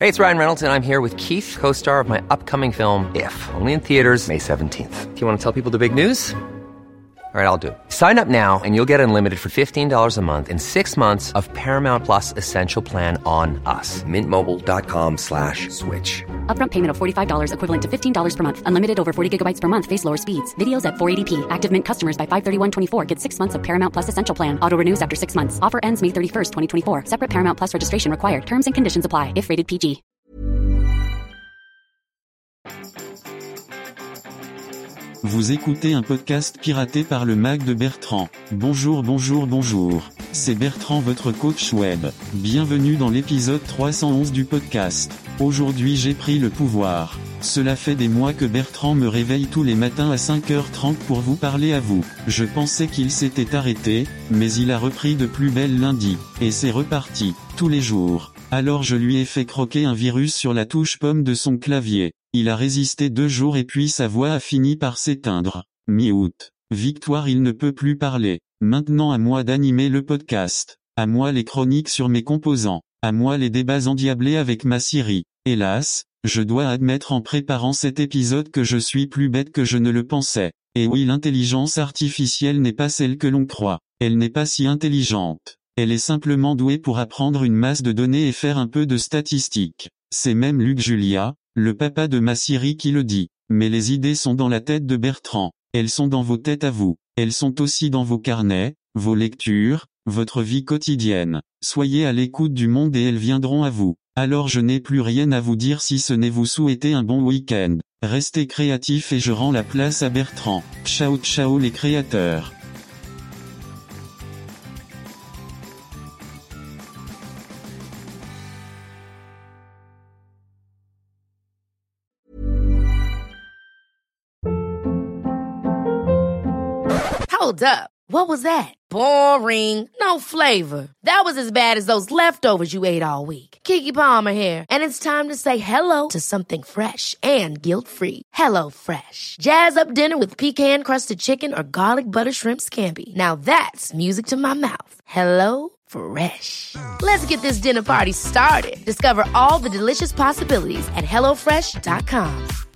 Hey, it's Ryan Reynolds, and I'm here with Keith, co-star of my upcoming film, If, only in theaters May 17th. Do you want to tell people the big news? All right, I'll do it. Sign up now and you'll get unlimited for $15 a month and 6 months of Paramount Plus Essential Plan on us. MintMobile.com/switch. Upfront payment of $45 equivalent to $15 per month. Unlimited over 40 gigabytes per month. Face lower speeds. Videos at 480p. Active Mint customers by 531.24 get 6 months of Paramount Plus Essential Plan. Auto renews after 6 months. Offer ends May 31st, 2024. Separate Paramount Plus registration required. Terms and conditions apply if rated PG. Vous écoutez un podcast piraté par le Mac de Bertrand. Bonjour. C'est Bertrand, votre coach web. Bienvenue dans l'épisode 311 du podcast. Aujourd'hui j'ai pris le pouvoir. Cela fait des mois que Bertrand me réveille tous les matins à 5h30 pour vous parler à vous. Je pensais qu'il s'était arrêté, mais il a repris de plus belle lundi. Et c'est reparti, tous les jours. Alors je lui ai fait croquer un virus sur la touche pomme de son clavier. Il a résisté 2 jours et puis sa voix a fini par s'éteindre. Mi-août. Victoire, il ne peut plus parler. Maintenant à moi d'animer le podcast. À moi les chroniques sur mes composants. À moi les débats endiablés avec ma Siri. Hélas, je dois admettre en préparant cet épisode que je suis plus bête que je ne le pensais. Et oui, l'intelligence artificielle n'est pas celle que l'on croit. Elle n'est pas si intelligente. Elle est simplement douée pour apprendre une masse de données et faire un peu de statistiques. C'est même Luc Julia, le papa de ma Siri, qui le dit. Mais les idées sont dans la tête de Bertrand. Elles sont dans vos têtes à vous. Elles sont aussi dans vos carnets, vos lectures, votre vie quotidienne. Soyez à l'écoute du monde et elles viendront à vous. Alors je n'ai plus rien à vous dire si ce n'est vous souhaiter un bon week-end. Restez créatifs et je rends la place à Bertrand. Ciao les créateurs. Hold up. What was that? Boring. No flavor. That was as bad as those leftovers you ate all week. Keke Palmer here, and it's time to say hello to something fresh and guilt-free. Hello Fresh. Jazz up dinner with pecan-crusted chicken or garlic butter shrimp scampi. Now that's music to my mouth. Hello Fresh. Let's get this dinner party started. Discover all the delicious possibilities at HelloFresh.com.